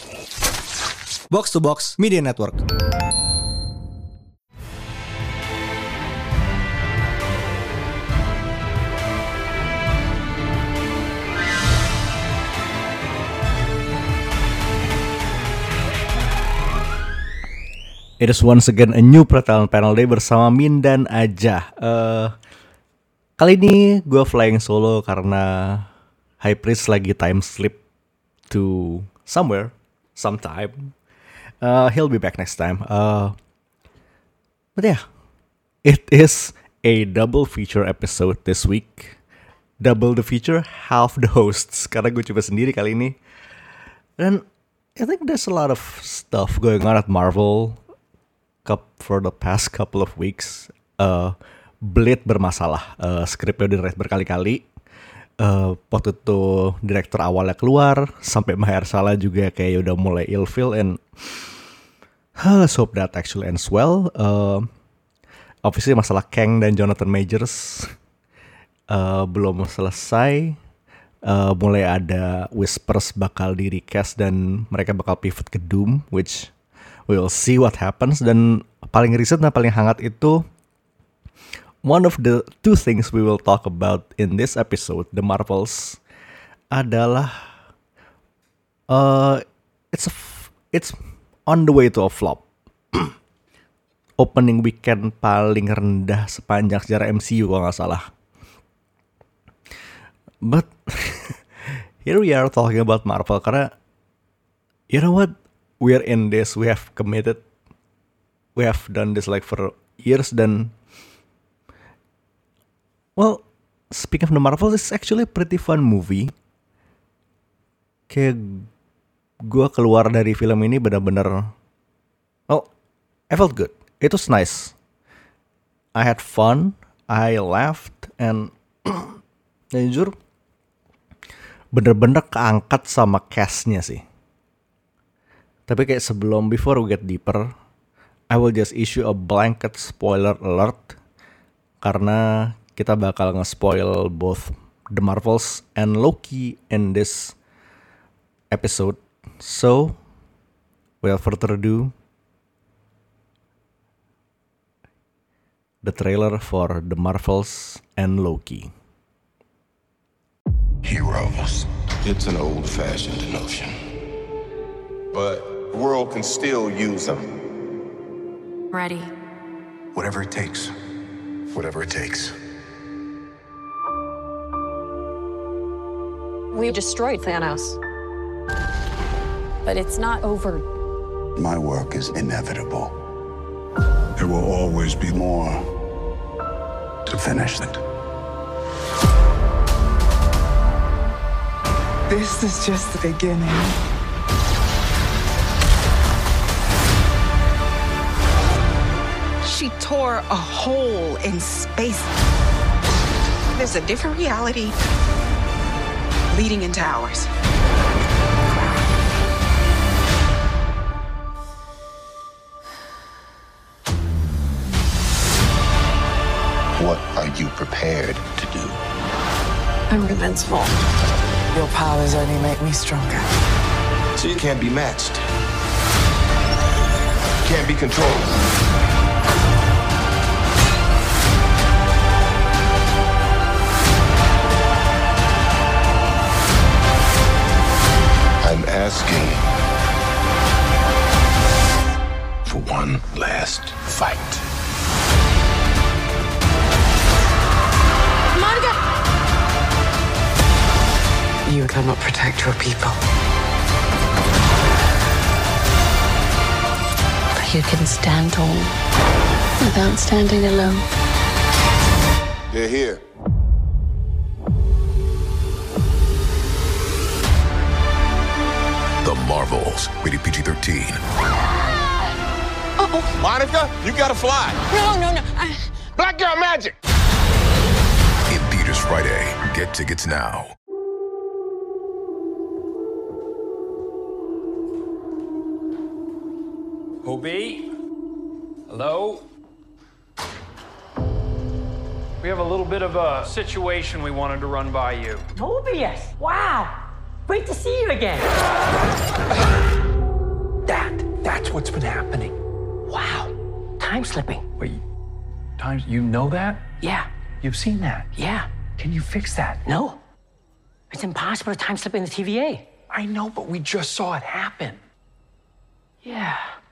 Box to Box Media Network. It is once again a new Pretalent Panel Day bersama Min dan Ajah. Kali ini gue flying solo karena High Priest lagi time slip to somewhere, sometime. He'll be back next time. But yeah, it is a double feature episode this week. Double the feature, half the hosts. Karena gue coba sendiri kali ini. Dan I think there's a lot of stuff going on at Marvel for the past couple of weeks. Blade bermasalah. Skripnya udah direct berkali-kali. Waktu itu direktur awalnya keluar, sampai Mahershala juga kayak udah mulai ilfeel, and let's hope that actually ends well. Obviously masalah Kang dan Jonathan Majors belum selesai. Mulai ada whispers bakal di recast dan mereka bakal pivot ke Doom, which we'll see what happens. Dan paling recent dan paling hangat itu, one of the two things we will talk about in this episode, The Marvels, adalah it's on the way to a flop. Opening weekend paling rendah sepanjang sejarah MCU kalau nggak salah. But here we are talking about Marvel karena you know what, we're in this, we have committed, we have done this like for years, dan well, speaking of the Marvel, it's actually a pretty fun movie. Kayak gue keluar dari film ini benar-benar, well, I felt good. It was nice. I had fun, I laughed, and jujur, bener-bener keangkat sama cast-nya sih. Tapi kayak sebelum, before we get deeper, I will just issue a blanket spoiler alert. Karena kita bakal nge-spoil both The Marvels and Loki in this episode. So, without further ado, the trailer for The Marvels and Loki. Heroes. It's an old-fashioned notion. But the world can still use them. Ready. Whatever it takes. Whatever it takes. We destroyed Thanos. But it's not over. My work is inevitable. There will always be more to finish it. This is just the beginning. She tore a hole in space. There's a different reality leading into ours. What are you prepared to do? I'm invincible. Your powers only make me stronger. So you can't be matched. Can't be controlled. I'm asking for one last fight. Monica! You cannot protect your people. But you can stand tall without standing alone. They're here. The Marvels, rated PG-13. Oh, Monica, you gotta fly. no. Black girl magic. In theaters Friday. Get tickets now. Hobie? Hello? We have a little bit of a situation we wanted to run by you. Mobius! Wow! Great to see you again. What's been happening? Wow. Time slipping. Wait, you know that? Yeah. You've seen that? Yeah. Can you fix that? No. It's impossible to time slip in the TVA. I know, but we just saw it happen. Yeah.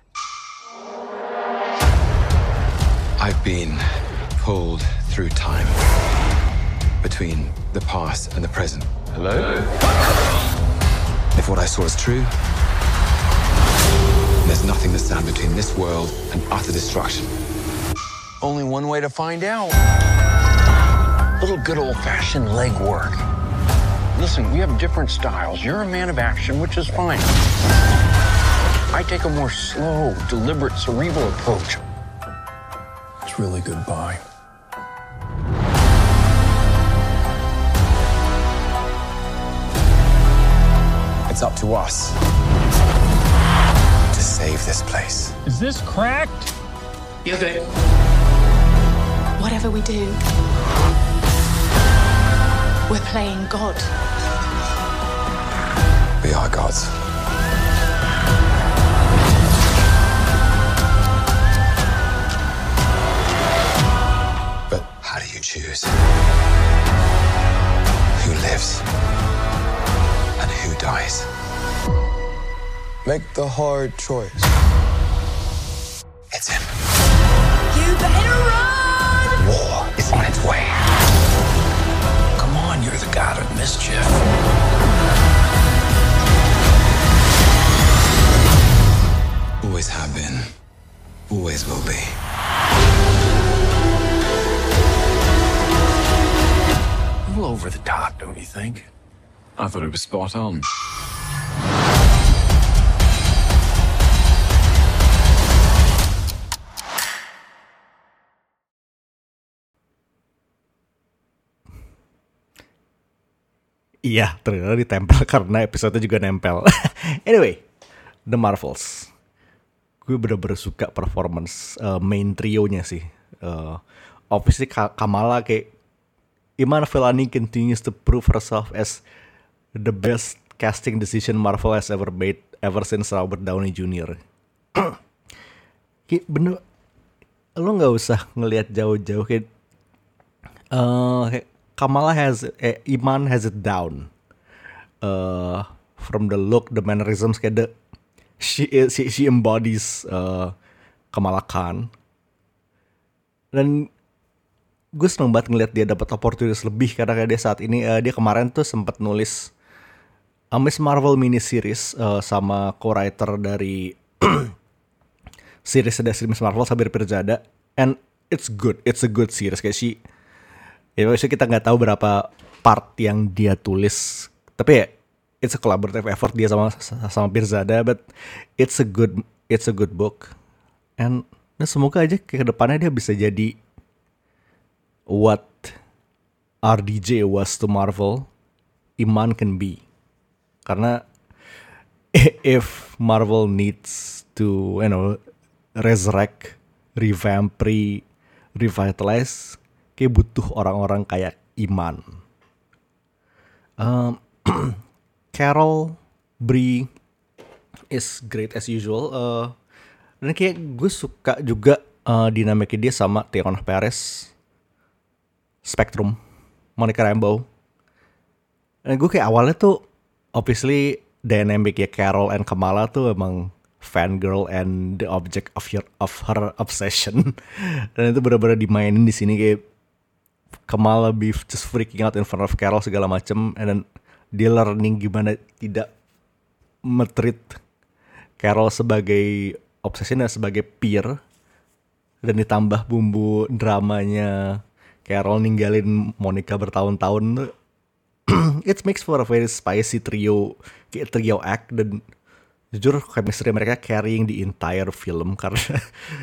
I've been pulled through time between the past and the present. Hello? If what I saw is true, there's nothing to stand between this world and utter destruction. Only one way to find out. Little good old-fashioned legwork. Listen, we have different styles. You're a man of action, which is fine. I take a more slow, deliberate, cerebral approach. It's really goodbye. It's up to us to save this place. Is this cracked? You're good. Whatever we do, we're playing God. We are gods. But how do you choose who lives and who dies? Make the hard choice. It's him. You better run! War is on its way. Come on, you're the god of mischief. Always have been. Always will be. A little over the top, don't you think? I thought it was spot on. Iya, ternyata ditempel karena episode juga nempel. Anyway, The Marvels. Gue bener-bener suka performance main trio-nya sih. Obviously Kamala kayak Iman Vellani continues to prove herself as the best casting decision Marvel has ever made ever since Robert Downey Jr. Kayak bener, lo nggak usah ngelihat jauh-jauh kayak Kamala Iman has it down. From the look, the mannerisms, kayak she embodies Kamala Khan. Dan gue seneng banget ngeliat dia dapat opportunities lebih karena kayak dia saat ini dia kemarin tuh sempat nulis Miss Marvel mini series sama co-writer dari series Miss Marvel Sabir Pirzada, and it's a good series. Kayak maksudnya kita nggak tahu berapa part yang dia tulis, tapi ya it's a collaborative effort dia sama Pirzada, but it's a good book, and semoga aja ke depannya dia bisa jadi what RDJ was to Marvel, Iman can be. Karena if Marvel needs to, resurrect, revamp, revitalize, kayak butuh orang-orang kayak Iman. Carol, Brie is great as usual. Dan kayak gue suka juga dinamiknya dia sama Teyonah Perez, Spectrum, Monica Rambeau. Dan gue kayak awalnya tuh obviously dynamic ya Carol and Kamala tuh emang fangirl and the object of her obsession. Dan itu benar-benar dimainin di sini kayak Kamala be just freaking out in front of Carol segala macem, and then dia learning gimana tidak metreat Carol sebagai obsession dan sebagai peer, dan ditambah bumbu dramanya Carol ninggalin Monica bertahun-tahun. It makes for a very spicy trio act, dan jujur chemistry mereka carrying the entire film karena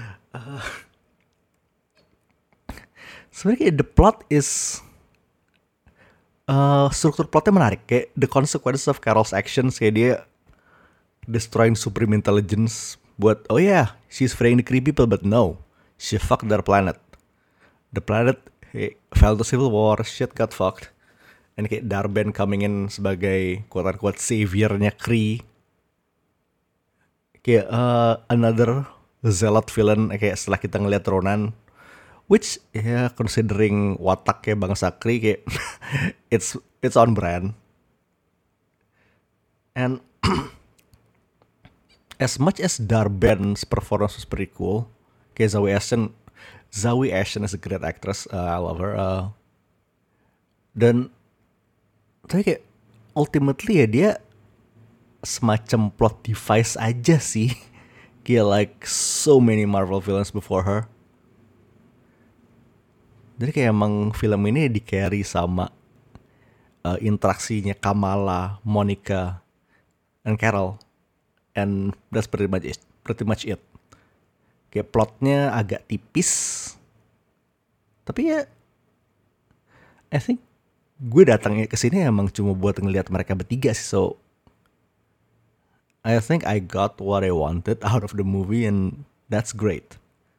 sebenarnya the plot is struktur plotnya menarik, kayak the consequences of Carol's actions, kayak dia destroying supreme intelligence buat she's freeing the Kree people, but no, she fucked their planet. The planet fell to civil war, shit got fucked. And kayak Darben coming in sebagai quote-unquote saviornya Kree. kayak another zealot villain kayak setelah kita ngeliat Ronan, which ya considering wataknya Bang Sakri kayak it's on brand. And as much as Darben's performance was pretty cool, kayak Zawe Ashton is a great actress, I love her. Dan tapi kayak ultimately ya dia semacam plot device aja sih. Kayak like so many Marvel villains before her. Jadi kayak emang film ini di-carry sama interaksinya Kamala, Monica, and Carol. And that's pretty much it. Kayak plotnya agak tipis. Tapi ya I think gue datangnya ke sini emang cuma buat ngelihat mereka bertiga sih. So I think I got what I wanted out of the movie and that's great.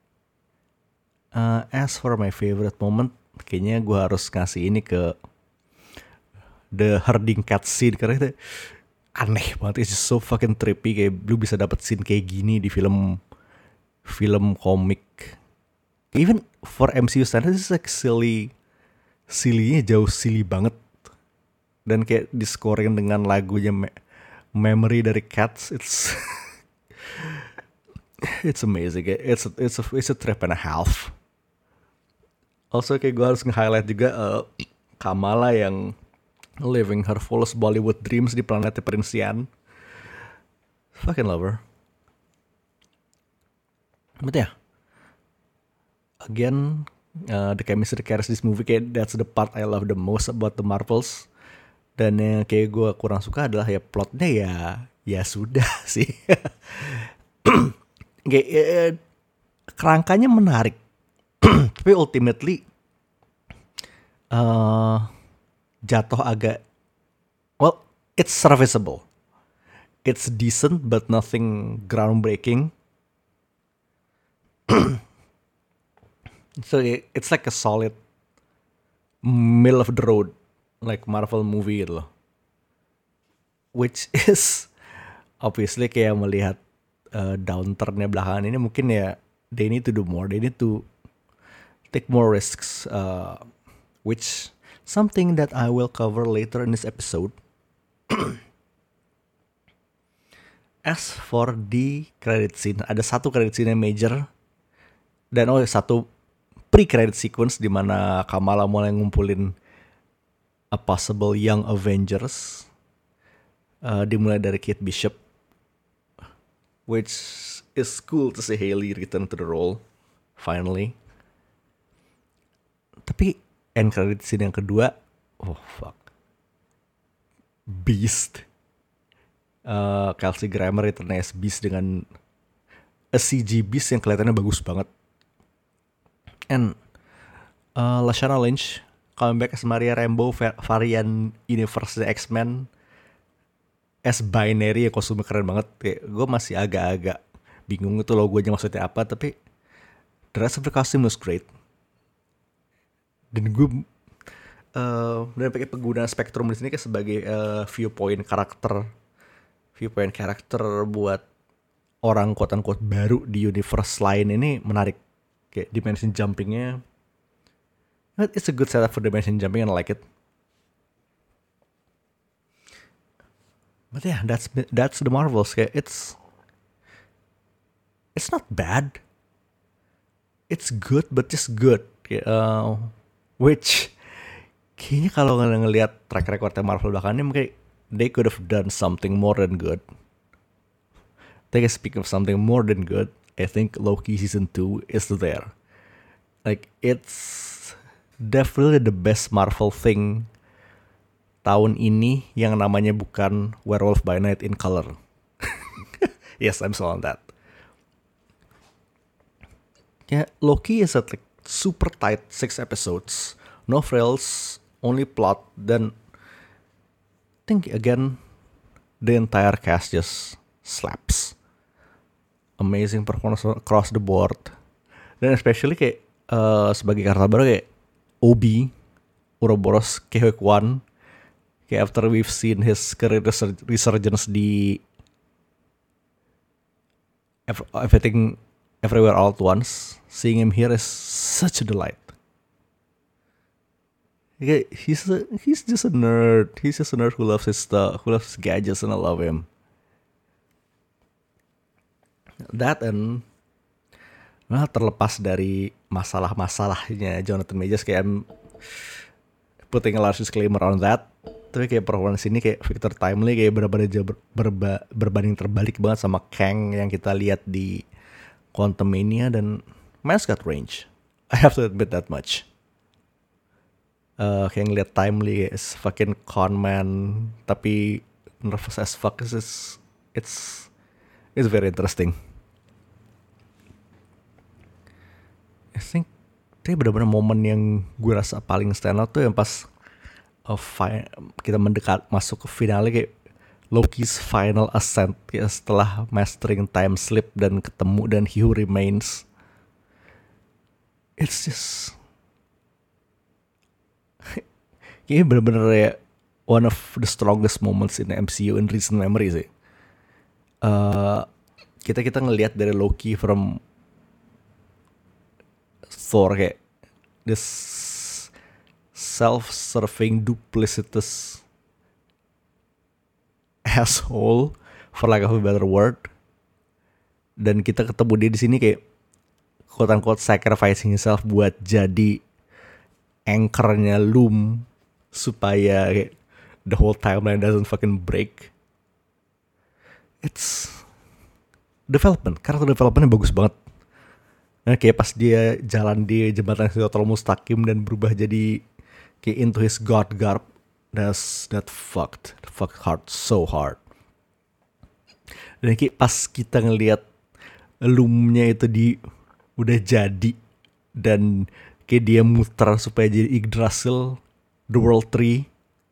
As for my favorite moment, kayaknya gue harus ngasih ini ke the herding cat scene karena itu aneh banget. It's just so fucking trippy. Kayak lu bisa dapet scene kayak gini di film komik. Even for MCU standards, this is like silly-nya jauh silly banget. Dan kayak di scoring dengan lagunya Memory dari Cats, it's amazing. It's a trip and a half. Also kayak gue harus nge-highlight juga Kamala yang living her fullest Bollywood dreams di planet Perinsian. Fucking love her. But yeah, again, the chemistry carries this movie. Kayak that's the part I love the most about the Marvels. Dan yang kayak gue kurang suka adalah ya plotnya ya sudah sih. Kayak kerangkanya menarik, tapi ultimately jatuh agak, well, it's serviceable, it's decent but nothing groundbreaking. So it's like a solid middle of the road like Marvel movie gitu loh. Which is obviously kayak melihat downturn-nya belakangan ini mungkin ya they need to do more, they need to take more risks, which something that I will cover later in this episode. As for the credit scene, ada satu credit scene yang major dan satu pre-credit sequence di mana Kamala mulai ngumpulin a possible young Avengers. Dimulai dari Kate Bishop, which is cool to see Hailey return to the role finally. Tapi end credit scene yang kedua, oh fuck, Beast. Kelsey Grammer return as Beast dengan a CG Beast yang kelihatannya bagus banget. And Lashana Lynch coming back as Maria Rambeau, varian universe X-Men as binary, ya kostumnya keren banget. Kayak gue masih agak-agak bingung itu logonya maksudnya apa, tapi the rest of the costume was great. Dan gue pakai penggunaan Spectrum di sini kayak sebagai viewpoint karakter buat orang quote-unquote baru di universe lain ini menarik. Kayak dimension jumpingnya, it's a good setup for dimension jumping and I like it. But yeah, that's the Marvels. Kayak it's not bad. It's good, but just good. Kayak, which kayaknya kalau ngelihat track recordnya Marvel belakangan ini, mungkin they could have done something more than good. Speaking of something more than good, I think Loki season 2 is there. Like it's definitely the best Marvel thing tahun ini yang namanya bukan Werewolf by Night in color. Yes, I'm still on that. Yeah, Loki is like super tight 6 episodes, no frills, only plot. Then I think again the entire cast just slaps. Amazing performance across the board. Dan especially kayak sebagai karakter baru kayak Obi, Ouroboros Kehekwan. Kayak after we've seen his career resurgence di everything everywhere all at once. Seeing him here is such a delight. He's just a nerd. He's just a nerd who loves his stuff, who loves his gadgets, and I love him. That and terlepas dari masalah-masalahnya Jonathan Majors, kayak I'm putting a large disclaimer on that. Tapi kayak performance ini kayak Victor Timely kayak benar-benar berbanding terbalik banget sama Kang yang kita lihat di Quantumania, dan Miles got range. I have to admit that much. Kayak ngeliat Timely is fucking con man tapi nervous as fuck. It's very interesting. I think itu benar-benar momen yang gue rasa paling stand out tuh yang pas kita mendekat masuk ke finale, kayak Loki's final ascent, kayak setelah mastering time slip dan ketemu dan He Who Remains. It's just kayaknya bener-bener ya one of the strongest moments in the MCU in recent memory sih. Kita ngelihat dari Loki from Thor, kayak this self-serving, duplicitous asshole, for lack of a better word. Dan kita ketemu dia di sini kayak quote-unquote sacrificing himself buat jadi anchor-nya Loom supaya kayak the whole timeline doesn't fucking break. It's karakter developmentnya bagus banget. Nah, kayak pas dia jalan di jembatan Siratal Mustaqim dan berubah jadi kayak into his god garb, that fucked hard, so hard. Dan kayak pas kita ngelihat Loom-nya itu udah jadi dan kayak dia muter supaya jadi Yggdrasil, the World Tree,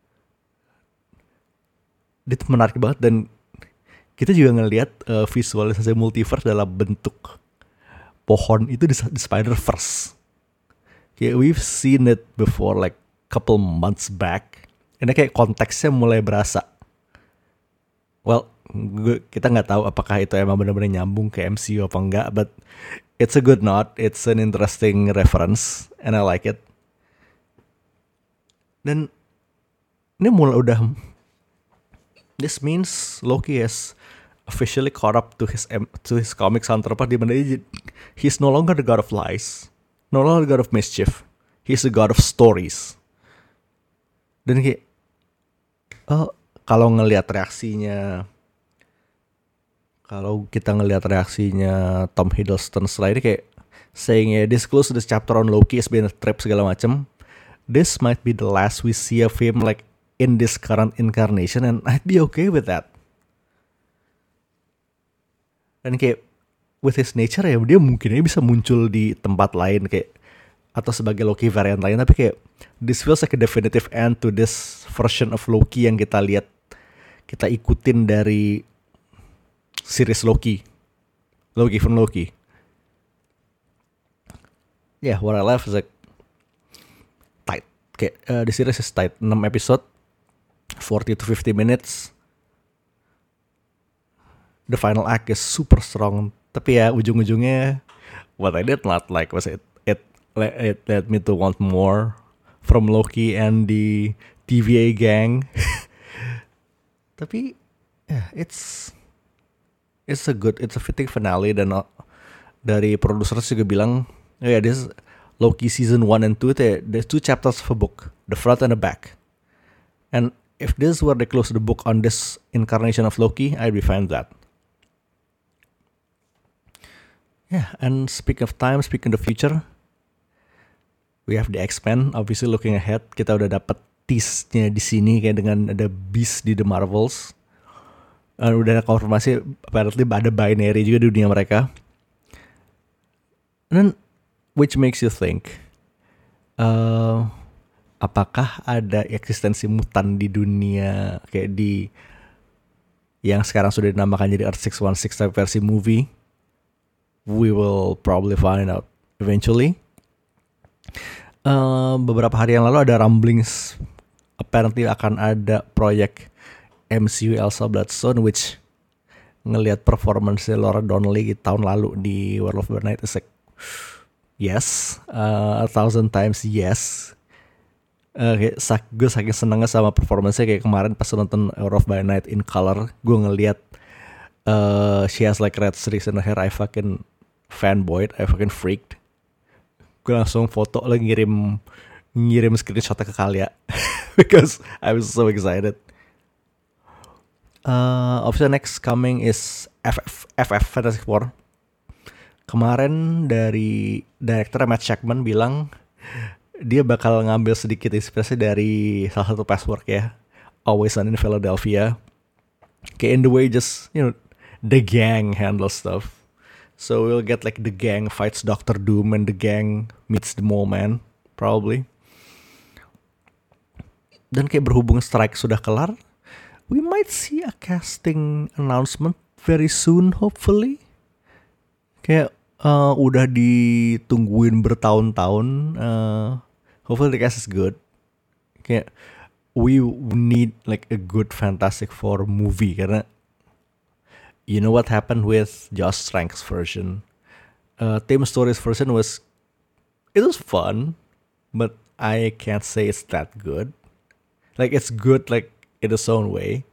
itu menarik banget. Dan kita juga ngelihat visualisasi multiverse dalam bentuk pohon itu di Spider-Verse. Kayak we've seen it before like couple months back. Ini kayak konteksnya mulai berasa. Well, kita nggak tahu apakah itu emang benar-benar nyambung ke MCU apa enggak, but it's a good nod, it's an interesting reference, and I like it. Dan ini this means Loki has officially caught up to his comics counterpart, di mana he's no longer the god of lies, no longer the god of mischief, he's the god of stories. Dan kayak kalau kita ngelihat reaksinya Tom Hiddleston setelah ini, kayak saying this close to this chapter on Loki has been a trip segala macam. This might be the last we see of him like in this current incarnation, and I'd be okay with that. Dan kayak with his nature ya, dia mungkin bisa muncul di tempat lain kayak atau sebagai Loki variant lain, tapi kayak this feels like a definitive end to this version of Loki yang kita lihat, kita ikutin dari series Loki from Loki. Yeah, what I love is like tight. Kayak the series is tight, 6 episode, 40 to 50 minutes. The final act is super strong, tapi ya ujung-ujungnya what I did not like was it led me to want more from Loki and the TVA gang. Tapi yeah, it's a fitting finale. Dan dari produser juga bilang, this Loki season 1 and 2, there's 2 chapters of a book, the front and the back. And if this were they close the book on this incarnation of Loki, I'd be fine with that. Yeah, and speaking of time, speaking of the future, we have the X-Men. Obviously looking ahead, kita udah dapat tease-nya di sini kayak dengan ada Beast di The Marvels. Udah ada konfirmasi apparently ada binary juga di dunia mereka. And then, which makes you think, apakah ada eksistensi mutan di dunia kayak di yang sekarang sudah dinamakan jadi Earth 616 tapi versi movie? We will probably find out eventually. Beberapa hari yang lalu ada rumblings apparently akan ada proyek MCU Elsa Bloodstone, which ngelihat performance Laura Donnelly tahun lalu di Werewolf by Night is like yes, 1,000 times yes. Gue saking senengnya sama performance-nya, kayak kemarin pas nonton Werewolf by Night in color, gue ngelihat she has like red streaks in her hair. I fucking fanboyed, I fucking freaked. Gue langsung foto lagi ngirim screenshotnya ke Kalia because I was so excited. Obviously next coming is FF Fantastic Four. Kemarin dari director Matt Shakman bilang dia bakal ngambil sedikit inspirasi dari salah satu past work ya, Always Sunny in Philadelphia. Kayak in the way just, you know, the gang handle stuff. So we'll get like the gang fights Doctor Doom and the gang meets the Mole Man probably. Dan kayak berhubung strike sudah kelar, we might see a casting announcement very soon, hopefully. Kayak udah ditungguin bertahun-tahun. Hopefully the cast is good. Kayak we need like a good Fantastic Four movie, karena you know what happened with Josh Trank's version. Tim Story's version was fun, but I can't say it's that good. Like it's good like in its own way.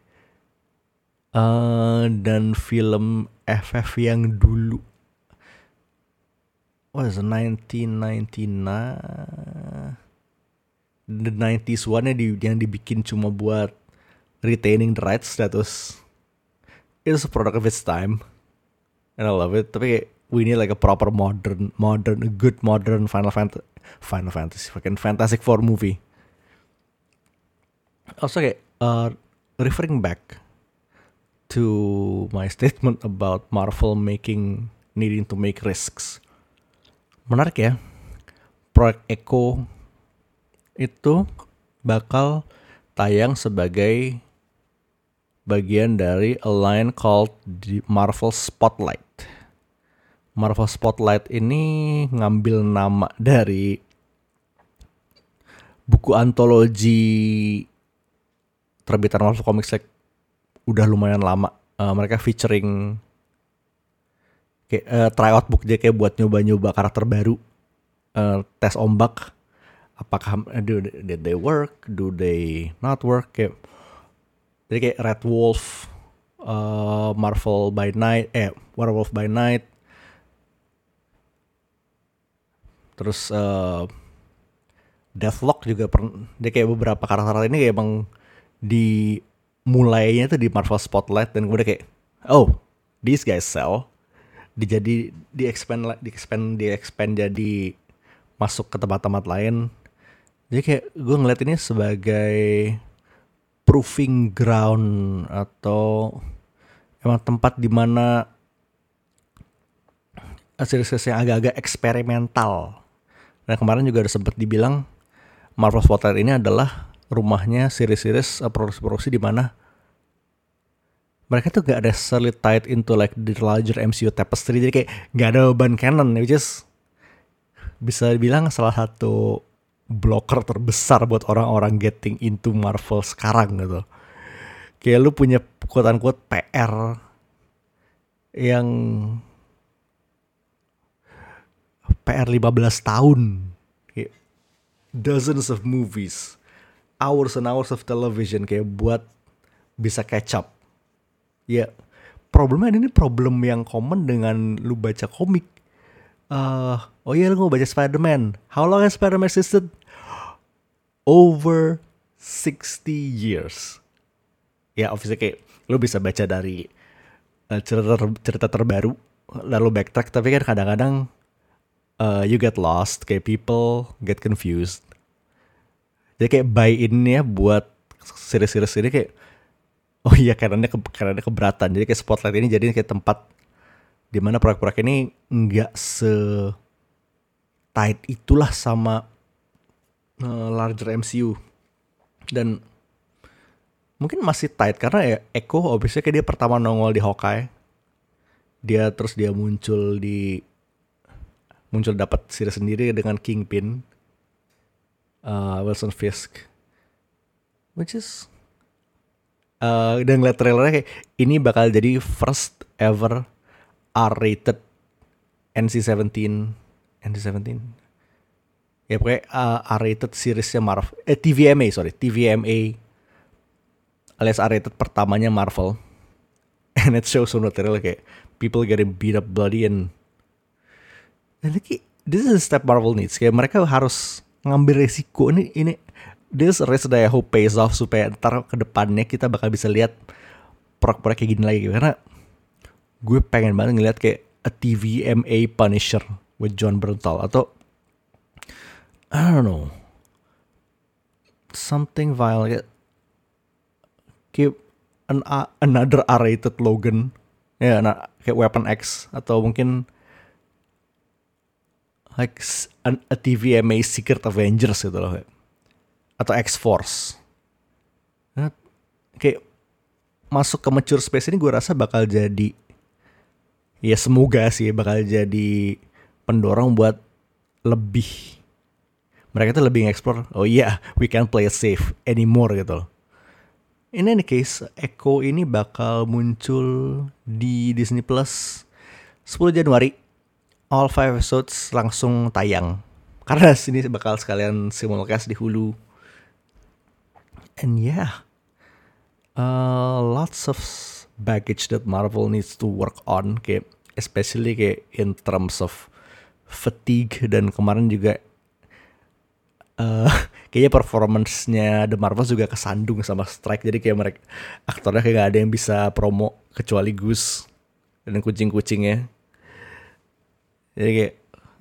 Dan film FF yang dulu, what is it, 1999, the 90s one yang dibikin cuma buat retaining the rights, that was, it was a product of its time and I love it. Tapi we need like a proper modern, a good modern Final Fantasy, fucking Fantastic Four movie. Also kayak referring back to my statement about Marvel needing to make risks. Menarik ya, proyek Echo itu bakal tayang sebagai bagian dari a line called the Marvel Spotlight. Marvel Spotlight ini ngambil nama dari buku antologi terbitan Marvel Comics like udah lumayan lama. Mereka featuring kayak tryout book dia kayak buat nyoba-nyoba karakter baru, tes ombak. Apakah did they work, do they not work? Kayak jadi kayak Red Wolf, Marvel by Night, Werewolf by Night, terus Deathlock juga dia kayak beberapa karakter ini kayak emang dimulainya tuh di Marvel Spotlight, dan gue udah kayak these guys sell. Di expand jadi masuk ke tempat-tempat lain. Jadi kayak gue ngeliat ini sebagai proving ground atau emang tempat di mana series-series yang agak-agak eksperimental. Dan kemarin juga ada sempat dibilang Marvel Spotlight ini adalah rumahnya series-series produksi-produksi di mana mereka tuh gak ada necessarily tied into like the larger MCU tapestry. Jadi kayak gak ada beban canon, which is bisa dibilang salah satu blocker terbesar buat orang-orang getting into Marvel sekarang gitu. Kayak lu punya quote-unquote PR yang PR 15 tahun, kayak dozens of movies, hours and hours of television kayak buat bisa catch up. Ya, problemnya ini problem yang common dengan lu baca komik. Lu mau baca Spider-Man. How long has Spider-Man existed? Over 60 years. Ya, obviously kayak lu bisa baca dari cerita terbaru lalu backtrack, tapi kan kadang-kadang you get lost, kayak people get confused. Jadi kayak buy-in ya buat series-series ini kayak karena keberatan. Jadi kayak Spotlight ini jadi kayak tempat dimana proyek-proyek ini nggak tight itulah sama larger MCU, dan mungkin masih tight karena ya Echo obviously kayak dia pertama nongol di Hawkeye, dia muncul dapat series sendiri dengan Kingpin, Wilson Fisk, which is dan ngeliat trailernya kayak ini bakal jadi first ever R-rated NC-17 ya pokoknya R-rated seriesnya Marvel, TVMA alias R-rated pertamanya Marvel. And it shows on material kayak people getting beat up bloody and like, this is a step Marvel needs. Kayak mereka harus ngambil resiko ini this risk that I hope pays off supaya ntar ke depannya kita bakal bisa lihat proyek kayak gini lagi. Karena gue pengen banget ngeliat kayak a TVMA Punisher with John Bernthal atau I don't know something violent kayak another R-rated Logan ya, kayak Weapon X atau mungkin like a TVMA Secret Avengers gitu loh, atau X-Force. Nah, kayak masuk ke mature space ini gue rasa bakal jadi, ya semoga sih bakal jadi pendorong buat lebih, mereka tuh lebih nge-explore, oh iya we can't play it safe anymore gitu loh. In any case, Echo ini bakal muncul di Disney Plus 10 Januari. All 5 episodes langsung tayang. Karena sini bakal sekalian simulcast di Hulu. And yeah, lots of baggage that Marvel needs to work on, kayak especially kayak in terms of fatigue, dan kemarin juga kayaknya performance-nya The Marvels juga kesandung sama strike, jadi kayak mereka aktornya kayak gak ada yang bisa promo kecuali Goose dan kucing-kucingnya. Jadi kayak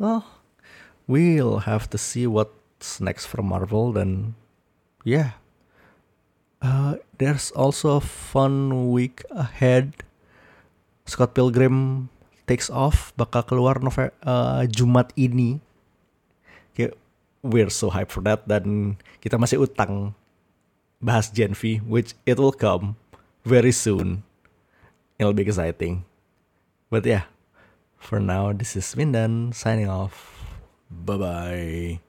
we'll have to see what's next for Marvel. Dan yeah, there's also a fun week ahead. Scott Pilgrim Takes Off bakal keluar Jumat ini. Kayak we're so hyped for that, dan kita masih utang bahas Gen V, which it will come very soon. It'll be exciting. But yeah, for now, this is Mindan signing off. Bye-bye.